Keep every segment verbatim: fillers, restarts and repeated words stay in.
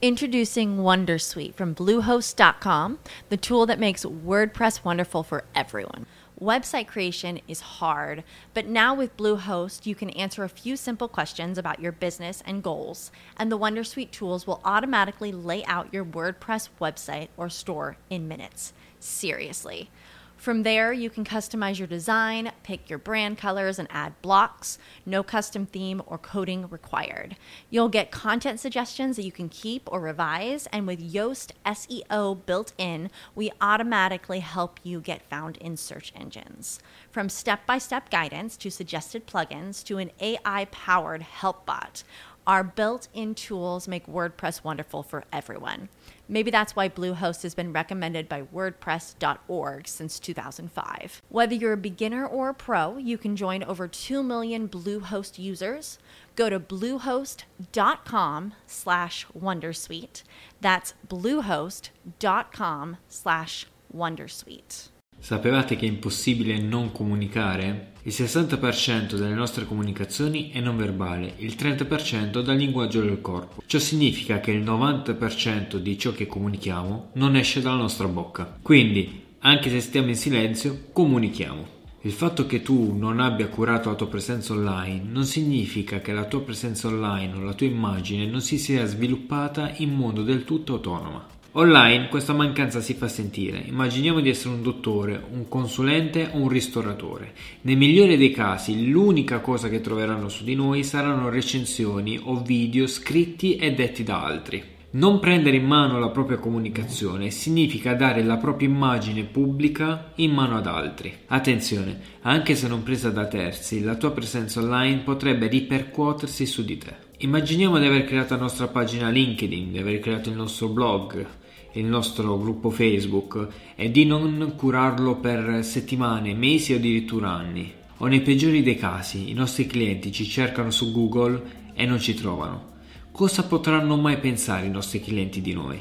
Introducing Wondersuite from Bluehost dot com, the tool that makes WordPress wonderful for everyone. Website creation is hard, but now with Bluehost, you can answer a few simple questions about your business and goals, and the Wondersuite tools will automatically lay out your WordPress website or store in minutes. Seriously. From there, you can customize your design, pick your brand colors, and add blocks. No custom theme or coding required. You'll get content suggestions that you can keep or revise, and with Yoast S E O built in, we automatically help you get found in search engines. From step-by-step guidance to suggested plugins to an A I-powered help bot, our built-in tools make WordPress wonderful for everyone. Maybe that's why Bluehost has been recommended by WordPress dot org since two thousand five. Whether you're a beginner or a pro, you can join over two million Bluehost users. Go to bluehost dot com slash wondersuite. That's bluehost dot com slash wondersuite. Sapevate che è impossibile non comunicare? Il sessanta per cento delle nostre comunicazioni è non verbale, il trenta per cento dal linguaggio del corpo. Ciò significa che il novanta per cento di ciò che comunichiamo non esce dalla nostra bocca. Quindi, anche se stiamo in silenzio, comunichiamo. Il fatto che tu non abbia curato la tua presenza online non significa che la tua presenza online o la tua immagine non si sia sviluppata in modo del tutto autonoma. Online questa mancanza si fa sentire. Immaginiamo di essere un dottore, un consulente o un ristoratore. Nel migliore dei casi l'unica cosa che troveranno su di noi saranno recensioni o video scritti e detti da altri. Non prendere in mano la propria comunicazione significa dare la propria immagine pubblica in mano ad altri. Attenzione, anche se non presa da terzi, la tua presenza online potrebbe ripercuotersi su di te. Immaginiamo di aver creato la nostra pagina LinkedIn, di aver creato il nostro blog, il nostro gruppo Facebook e di non curarlo per settimane, mesi o addirittura anni. O nei peggiori dei casi, i nostri clienti ci cercano su Google e non ci trovano. Cosa potranno mai pensare i nostri clienti di noi?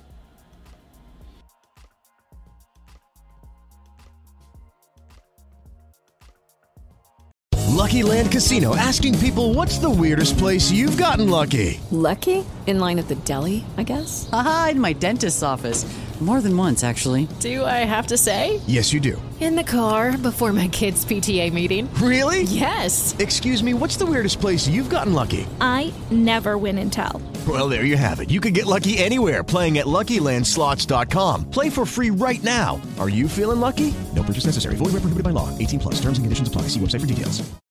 Lucky Land Casino, asking people, what's the weirdest place you've gotten lucky? Lucky? In line at the deli, I guess? Aha, in my dentist's office. More than once, actually. Do I have to say? Yes, you do. In the car before my kids' P T A meeting. Really? Yes. Excuse me, what's the weirdest place you've gotten lucky? I never win and tell. Well, there you have it. You can get lucky anywhere, playing at Lucky Land Slots dot com. Play for free right now. Are you feeling lucky? No purchase necessary. Void where prohibited by law. eighteen plus. Terms and conditions apply. See website for details.